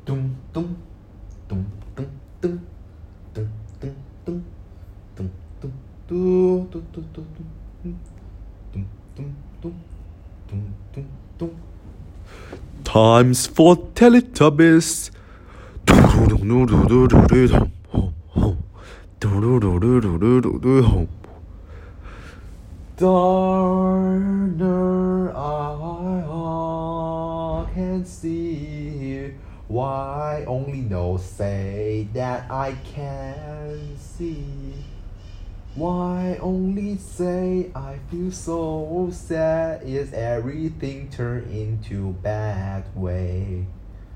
Dum dum dum dum dum dum dum dum dum dum dum dum dum dum dum dum dum dum dum. Times for Teletubbies. Darner I can see. Why only no say that I can see? Why only say I feel so sad? Is everything turned into bad way?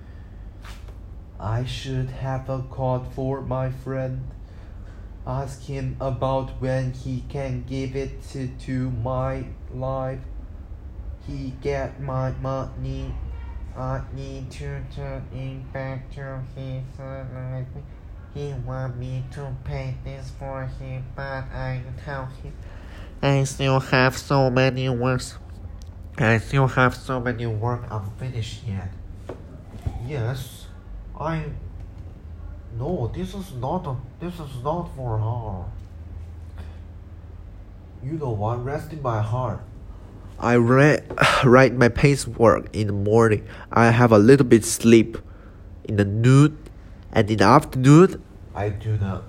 I should have a call for my friend. Ask him about when he can give it to my life. He get my money. I need to turn it back to his life. He want me to pay this for him, but I tell him I still have so many work unfinished yet. Yes, No, this is not for her. You know what? Rest in my heart. I write my pacework in the morning. I have a little bit sleep in the noon, and in the afternoon I do the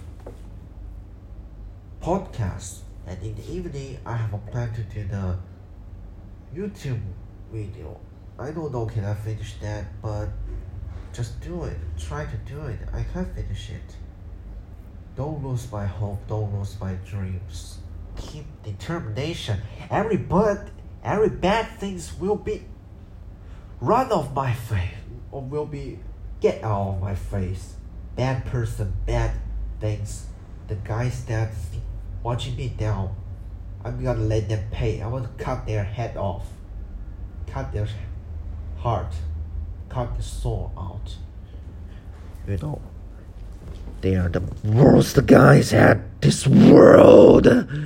podcast, and in the evening I have a plan to do the YouTube video. I don't know can I finish that, but just do it. Try to do it. I can finish it. Don't lose my hope. Don't lose my dreams. Keep determination. Every bad things will be run off my face, or will be get out of my face. Bad person, bad things. The guys that watching me down, I'm gonna let them pay. I want to cut their head off. Cut their heart. Cut the soul out. You know, they are the worst guys at this world.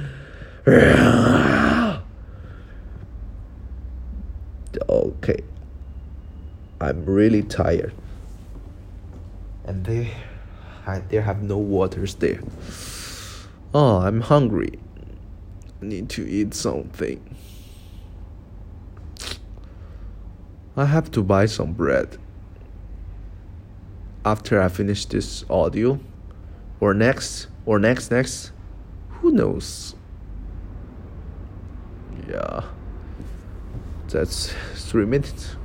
Okay, I'm really tired, and there have no waters there. Oh, I'm hungry. I need to eat something. I have to buy some bread. After I finish this audio, or next, who knows? Yeah, that's 3 minutes.